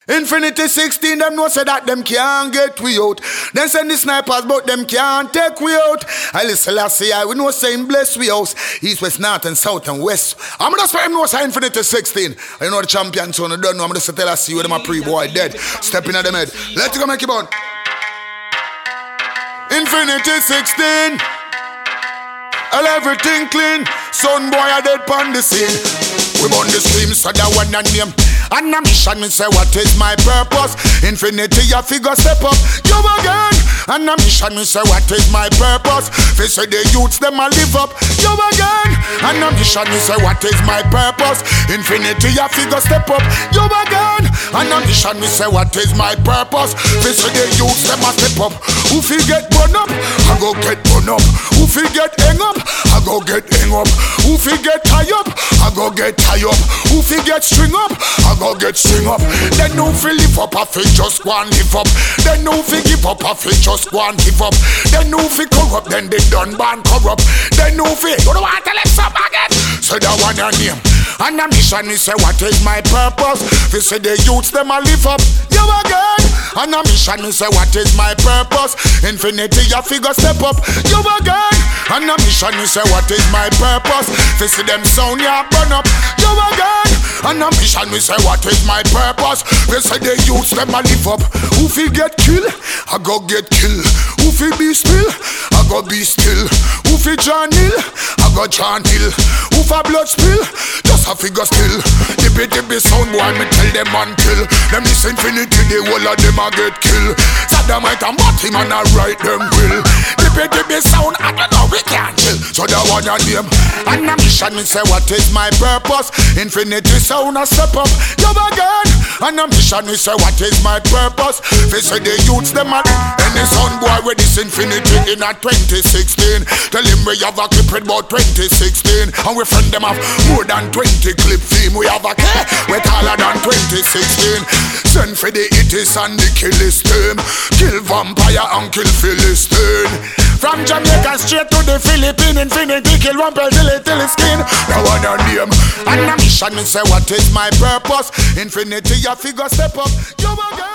Infinity 16, them know say that them can't get we out. Then send the snipers, but them can't take we out. I listen last year, we know saying bless we house. East, west, north, and south, and west. I'm gonna say them know say Infinity 16. You know the champion, so I don't know. I'm gonna tell us see where them a pre-boy dead. Stepping at them head. Let's go make it on. Infinity 16. All everything clean. Son boy are dead pon the scene. We burn the stream, so that one and name. And a mission, me say what is my purpose. Infinity, a figure step up, you again. And a mission, me say what is my purpose. They say the youths, them a live up, you again. And a mission, me say what is my purpose. Infinity, a figure step up, you again. And a mission, me say what is my purpose. They say the youths, them a step up. Who fi get burn up, I go get burn up. Who fi get hang up, I go get hang up. Who fi get tie up, I go get tie up. Who fi get string up, I go get string up. Then no fi live up, I fi just go and live up. Then no fi give up, I fi just go and give up. Then no fi corrupt, then they done ban corrupt. Then no fi, you don't want to let some again. Say that one your name. And a mission, me say what is my purpose. Fi say the youths, them a live up, you again. And a mission, me say what is my purpose. Infinity, a figure step up, you again. And a mission, me say what is my purpose. Fi see them sound, ya burn up, you again. And a mission, me say what is my purpose. They say the youths, them a live up. Who fi get kill, I go get kill. Who fi be still, I go be still. Who fi John Hill, I go John Hill. Who fi blood spill, just a figure still. The sound boy, me tell them until them this infinity, the whole of them a get kill. Saddamite and Batty man a write them will. The sound, I don't know, we can't chill. So that one of them. And a mission, me say what is my purpose. Infinity sound a step up, you again. And a mission, me say what is my purpose. They say the youths them a any sound boy with this infinity in a 2016. Tell him we have a clip with about 2016. And we friend them have more than 20 clip theme. We have a care with taller than 2016. Send for the itis and the killis team. Kill vampire and kill Philistine. From Jamaica straight to the Philippines. Infinity kill one till it's skin. Now one a name. And a mission, me say what is my purpose. Infinity, a figure step up, you again.